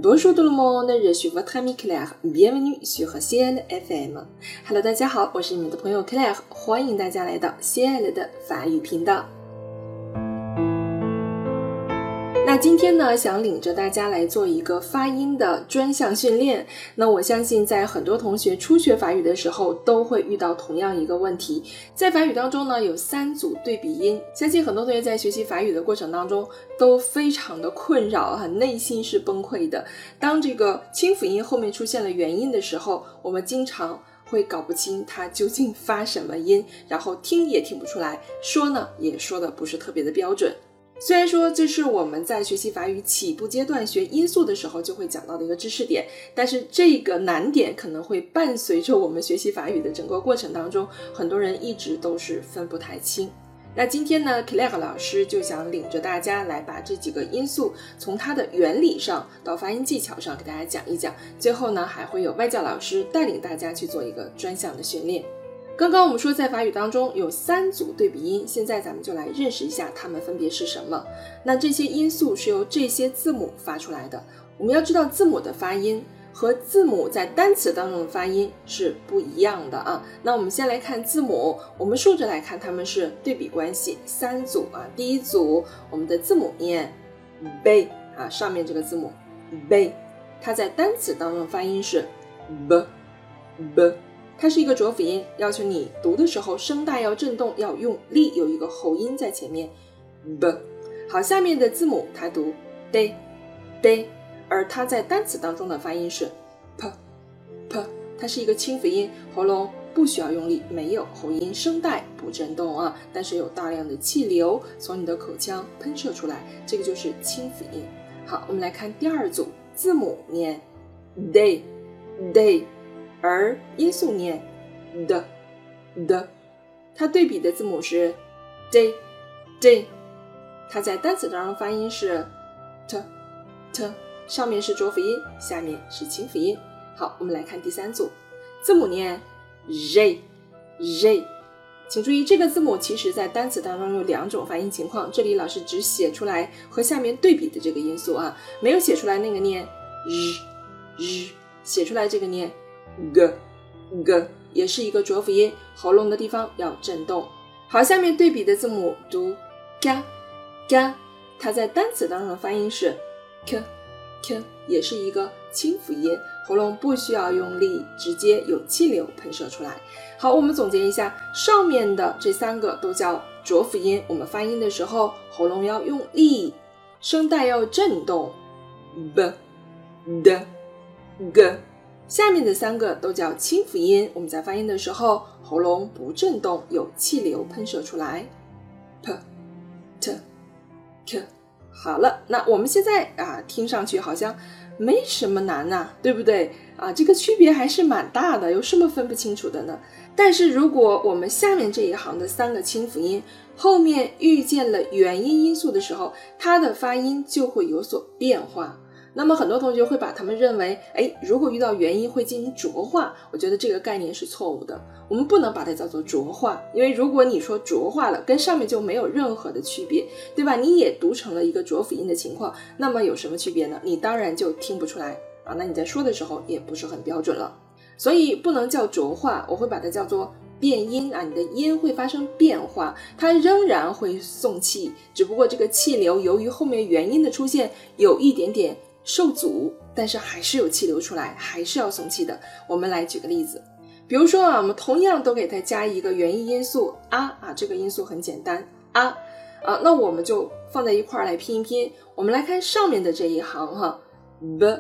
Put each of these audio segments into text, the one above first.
Bonjour tout le monde, je suis votre ami Claire, bienvenue sur Ciel FM. Hello， 大家好，我是你们的朋友 Claire， 欢迎大家来到 Ciel 的法语频道。那今天呢，想领着大家来做一个发音的专项训练。那我相信在很多同学初学法语的时候都会遇到同样一个问题，在法语当中呢有3组对比音，相信很多同学在学习法语的过程当中都非常的困扰，内心是崩溃的。当这个清辅音后面出现了元音的时候，我们经常会搞不清它究竟发什么音，然后听也听不出来，说呢也说的不是特别的标准。虽然说这是我们在学习法语起步阶段学音素的时候就会讲到的一个知识点，但是这个难点可能会伴随着我们学习法语的整个过程当中，很多人一直都是分不太清。那今天呢 Claire 老师就想领着大家来把这几个音素从它的原理上到发音技巧上给大家讲一讲，最后呢还会有外教老师带领大家去做一个专项的训练。刚刚我们说在法语当中有3组对比音，现在咱们就来认识一下它们分别是什么。那这些音素是由这些字母发出来的，我们要知道字母的发音和字母在单词当中的发音是不一样的啊。那我们先来看字母，我们竖着来看它们是对比关系，3组啊。第一组我们的字母念 b 啊，上面这个字母 b， 它在单词当中的发音是 b， 它是一个浊辅音，要求你读的时候声带要震动，要用力，有一个喉音在前面 b。 好，下面的字母它读 d， 而它在单词当中的发音是 p， 它是一个清辅音，喉咙不需要用力，没有喉音，声带不震动啊，但是有大量的气流从你的口腔喷射出来，这个就是清辅音。好，我们来看第2组，字母念 day， 而音素念 的，它对比的字母是 d， 它在单词当中发音是 t， 上面是浊辅音，下面是清辅音。好，我们来看第3组，字母念 j， 请注意这个字母其实在单词当中有2种发音情况，这里老师只写出来和下面对比的这个音素啊，没有写出来那个念 日，写出来这个念g， 也是一个浊辅音，喉咙的地方要震动。好，下面对比的字母读 ga， 它在单词当中的发音是 k， 也是一个清辅音，喉咙不需要用力，直接有气流喷射出来。好，我们总结一下，上面的这3个都叫浊辅音，我们发音的时候喉咙要用力，声带要震动 b d g。下面的3个都叫清辅音，我们在发音的时候喉咙不震动，有气流喷射出来 p t k。 好了，那我们现在听上去好像没什么难啊，对不对啊？这个区别还是蛮大的，有什么分不清楚的呢？但是如果我们下面这一行的3个清辅音后面遇见了元音音素的时候，它的发音就会有所变化。那么很多同学会把它们认为如果遇到元音会进行浊化，我觉得这个概念是错误的，我们不能把它叫做浊化，因为如果你说浊化了，跟上面就没有任何的区别，对吧？你也读成了一个浊辅音的情况，那么有什么区别呢？你当然就听不出来啊，那你在说的时候也不是很标准了，所以不能叫浊化，我会把它叫做变音啊，你的音会发生变化，它仍然会送气，只不过这个气流由于后面元音的出现有一点点受阻，但是还是有气流出来，还是要送气的。我们来举个例子，比如说我们同样都给它加一个元音音素这个音素很简单那我们就放在一块来拼一拼。我们来看上面的这一行b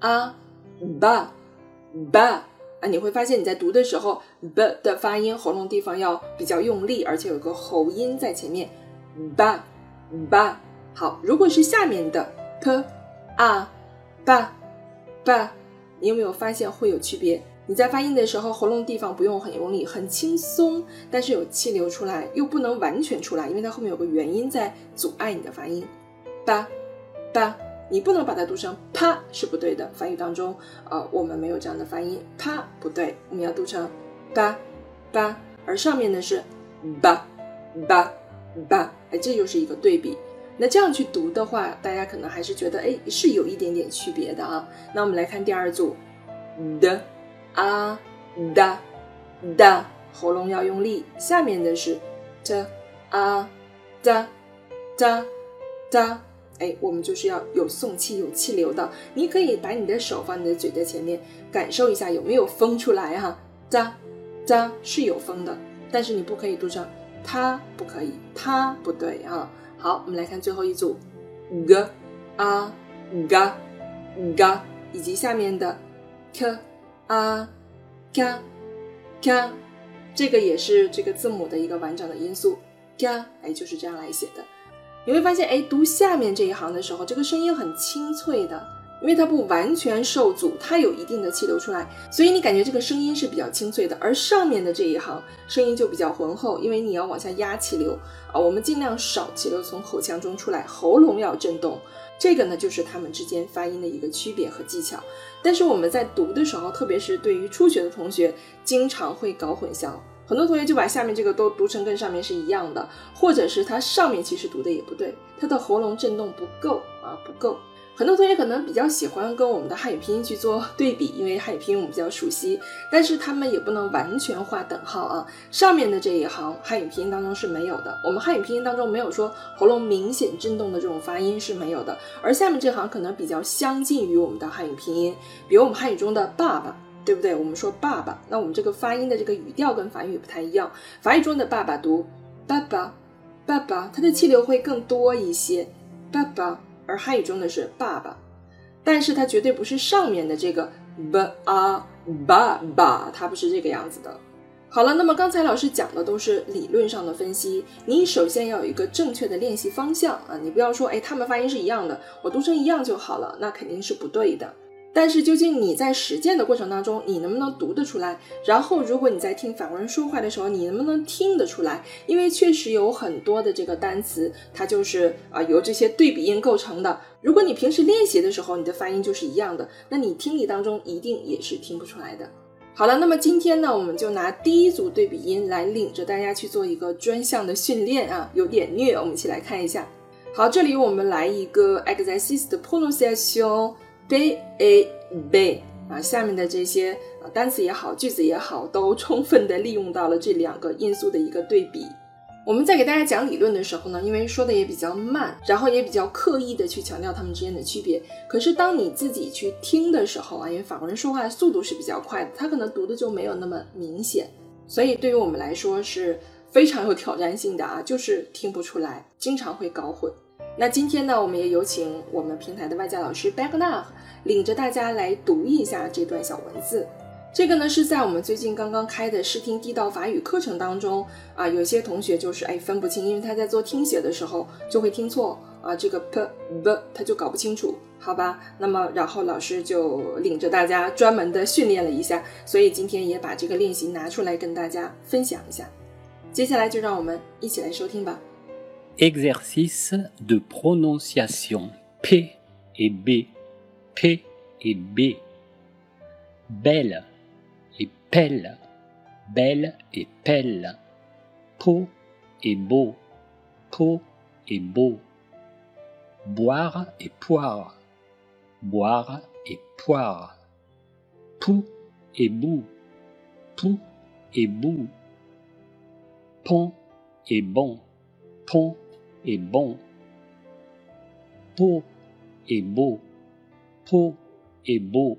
ba 你会发现你在读的时候 b 的发音喉咙地方要比较用力，而且有个喉音在前面 ba。 好，如果是下面的 p ba， 你有没有发现会有区别？你在发音的时候喉咙地方不用很用力，很轻松，但是有气流出来，又不能完全出来，因为它后面有个元音在阻碍你的发音 ba， 你不能把它读成啪，是不对的。法语当中我们没有这样的发音，啪不对，我们要读成ba，而上面的是ba，这就是一个对比。 那这样去读的话，大家可能还是觉得是有一点点区别的啊。那我们来看第二组的啊da da， 喉咙要用力，下面的是 t a da da da， 我们就是要有送气有气流的。你可以把你的手放你的嘴的前面，感受一下有没有风出来哈。da da 是有风的，但是你不可以读成它，不可以，它不对啊。好，我们来看最后一组 g a ga ga， 以及下面的 k a ga ga， 这个也是这个字母的一个完整的音素 ga， 就是这样来写的。你会发现读下面这一行的时候，这个声音很清脆的，因为它不完全受阻，它有一定的气流出来，所以你感觉这个声音是比较清脆的。而上面的这一行声音就比较浑厚，因为你要往下压气流我们尽量少气流从口腔中出来，喉咙要震动。这个呢就是它们之间发音的一个区别和技巧。但是我们在读的时候，特别是对于初学的同学，经常会搞混淆，很多同学就把下面这个都读成跟上面是一样的，或者是它上面其实读的也不对，它的喉咙震动不够不够。很多同学可能比较喜欢跟我们的汉语拼音去做对比，因为汉语拼音我们比较熟悉，但是他们也不能完全画等号啊。上面的这一行汉语拼音当中是没有的，我们汉语拼音当中没有说喉咙明显震动的这种发音是没有的，而下面这行可能比较相近于我们的汉语拼音，比如我们汉语中的爸爸，对不对？我们说爸爸，那我们这个发音的这个语调跟法语不太一样，法语中的爸爸读爸爸爸爸，它的气流会更多一些，爸爸，而汉语中的是爸爸，但是它绝对不是上面的这个 爸爸，它不是这个样子的。好了，那么刚才老师讲的都是理论上的分析，你首先要有一个正确的练习方向你不要说他们发音是一样的，我读成一样就好了，那肯定是不对的。但是究竟你在实践的过程当中，你能不能读得出来？然后如果你在听法国人说话的时候，你能不能听得出来？因为确实有很多的这个单词，它就是由这些对比音构成的。如果你平时练习的时候，你的发音就是一样的，那你听力当中一定也是听不出来的。好了，那么今天呢，我们就拿第一组对比音来领着大家去做一个专项的训练有点虐，我们一起来看一下。好，这里我们来一个 exercice de prononciation B A B 下面的这些单词也好，句子也好，都充分的利用到了这两个因素的一个对比。我们在给大家讲理论的时候呢，因为说的也比较慢，然后也比较刻意的去强调它们之间的区别。可是当你自己去听的时候因为法国人说话的速度是比较快的，他可能读的就没有那么明显，所以对于我们来说是非常有挑战性的就是听不出来，经常会搞混。那今天呢，我们也有请我们平台的外教老师 Bernard 领着大家来读一下这段小文字。这个呢是在我们最近刚刚开的试听地道法语课程当中有些同学就是分不清，因为他在做听写的时候就会听错这个 p b 他就搞不清楚，好吧？那么然后老师就领着大家专门的训练了一下，所以今天也把这个练习拿出来跟大家分享一下。接下来就让我们一起来收听吧。 Exercice de prononciation P et B, P et B. Belle et pelle, belle et pelle. Pot et beau, pot et beau. Boire et poire, boire et poire. Pou et bout, pou et bout. Pont et bon, pont et bon. Pot et beau, pot et beau.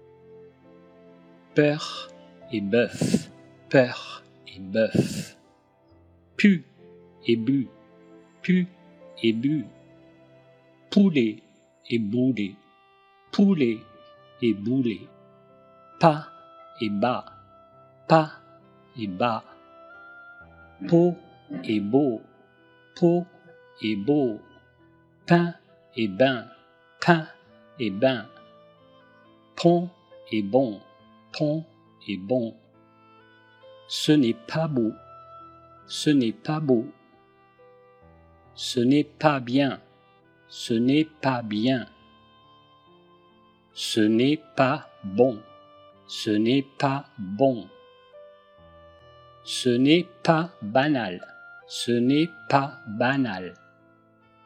Peur et bœuf, peur et bœuf. Pu et bu, pu et bu. Poulet et boulet, poulet et boulet. Pas et bas, pas et bas. Pot et beau, pot et beau. Pain et bain, pain et bain. Pont et bon, pont et bon. Ce n'est pas beau, ce n'est pas beau. Ce n'est pas bien, ce n'est pas bien. Ce n'est pas bon, ce n'est pas bon. Ce n'est pas banal, ce n'est pas banal.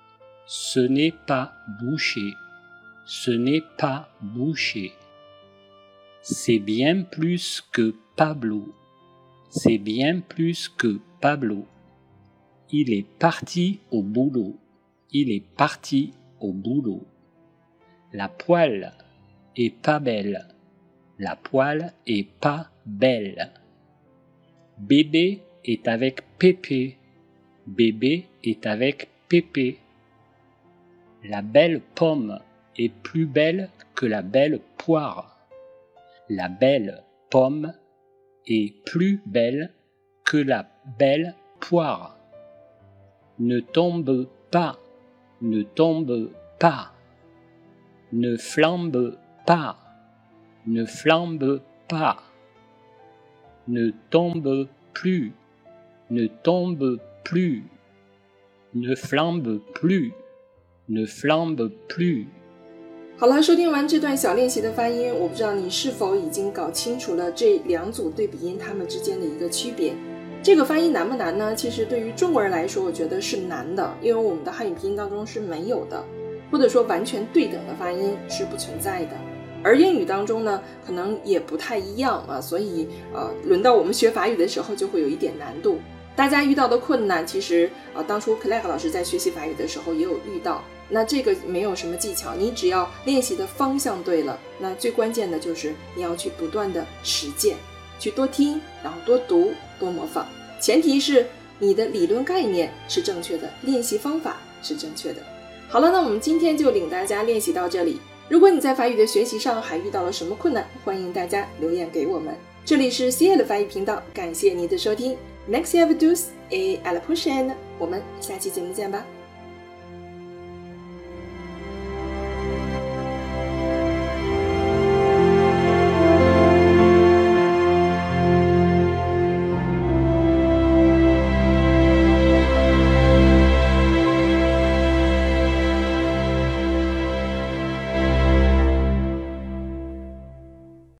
Ce n'est pas bouché. Ce n'est pas bouché. C'est bien plus que Pablo. C'est bien plus que Pablo. Il est parti au boulot. Il est parti au boulot. La poêle est pas belle. La poêle est pas belle. Bébé est avec Pépé. Bébé est avec Pépé. La belle pomme est plus belle que la belle poire. La belle pomme est plus belle que la belle poire. Ne tombe pas, ne tombe pas. Ne flambe pas, ne flambe pas. Ne tombe plus, ne tombe plus. Ne flambe plus, ne flambe plus。 好了，收听完这段小练习的发音，我不知道你是否已经搞清楚了这两组对比音它们之间的一个区别。这个发音难不难呢？其实对于中国人来说，我觉得是难的，因为我们的汉语拼音当中是没有的，或者说完全对等的发音是不存在的。而英语当中呢，可能也不太一样啊，所以轮到我们学法语的时候就会有一点难度。大家遇到的困难，其实当初 Claire 老师在学习法语的时候也有遇到。那这个没有什么技巧，你只要练习的方向对了，那最关键的就是你要去不断的实践，去多听，然后多读，多模仿。前提是你的理论概念是正确的，练习方法是正确的。好了，那我们今天就领大家练习到这里。如果你在法语的学习上还遇到了什么困难，欢迎大家留言给我们。这里是 Cia 的法语频道，感谢您的收听。Merci à vous tous et à la prochaine， 我们下期节目见吧。